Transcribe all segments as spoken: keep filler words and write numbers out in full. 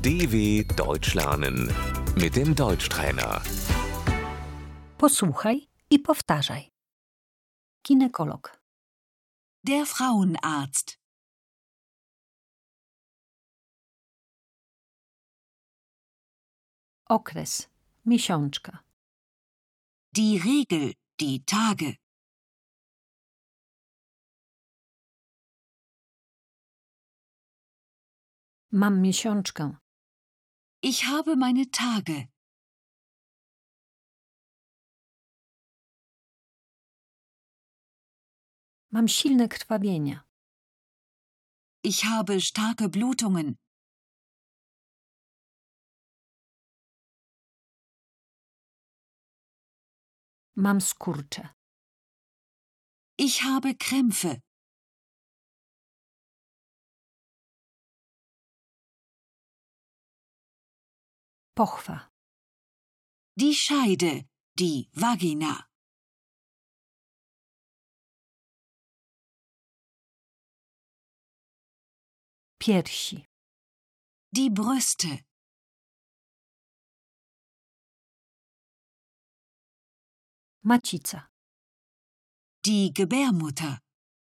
D W Deutsch lernen mit dem Deutschtrainer. Posłuchaj i powtarzaj. Ginekolog. Der Frauenarzt. Okres. Miesiączka. Die Regel, die Tage. Mam miesiączkę. Ich habe meine Tage. Mam silne krwawienia. Ich habe starke Blutungen. Mam skurcze. Ich habe Krämpfe. Pochwa. Die Scheide, die Vagina. Piersi. Die Brüste. Macica. Die Gebärmutter.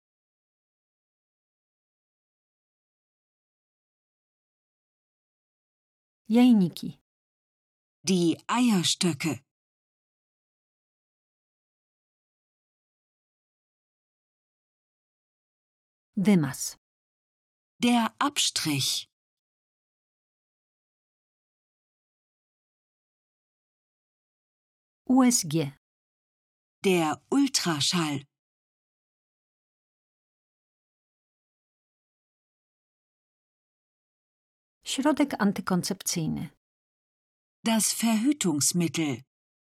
Jajniki. Die Eierstöcke. Wymaz. Der Abstrich. U S G. Der Ultraschall. Środek antykoncepcyjny. Das Verhütungsmittel.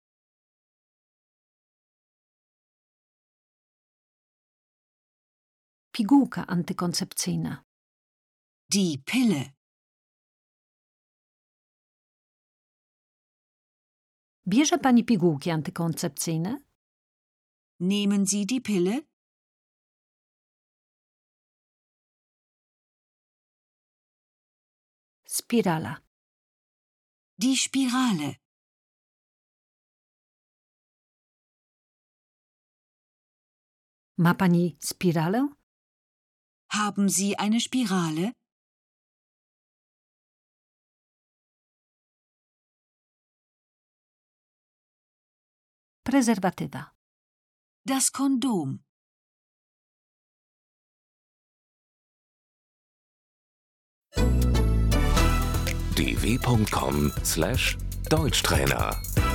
Pigułka antykoncepcyjna. Die Pille. Bierze pani pigułki antykoncepcyjne? Nehmen Sie die Pille? Spirala. Die Spirale. Ma pani spiralę? Haben Sie eine Spirale? Prezerwatywa. Das Kondom. d w punkt com slash Deutschtrainer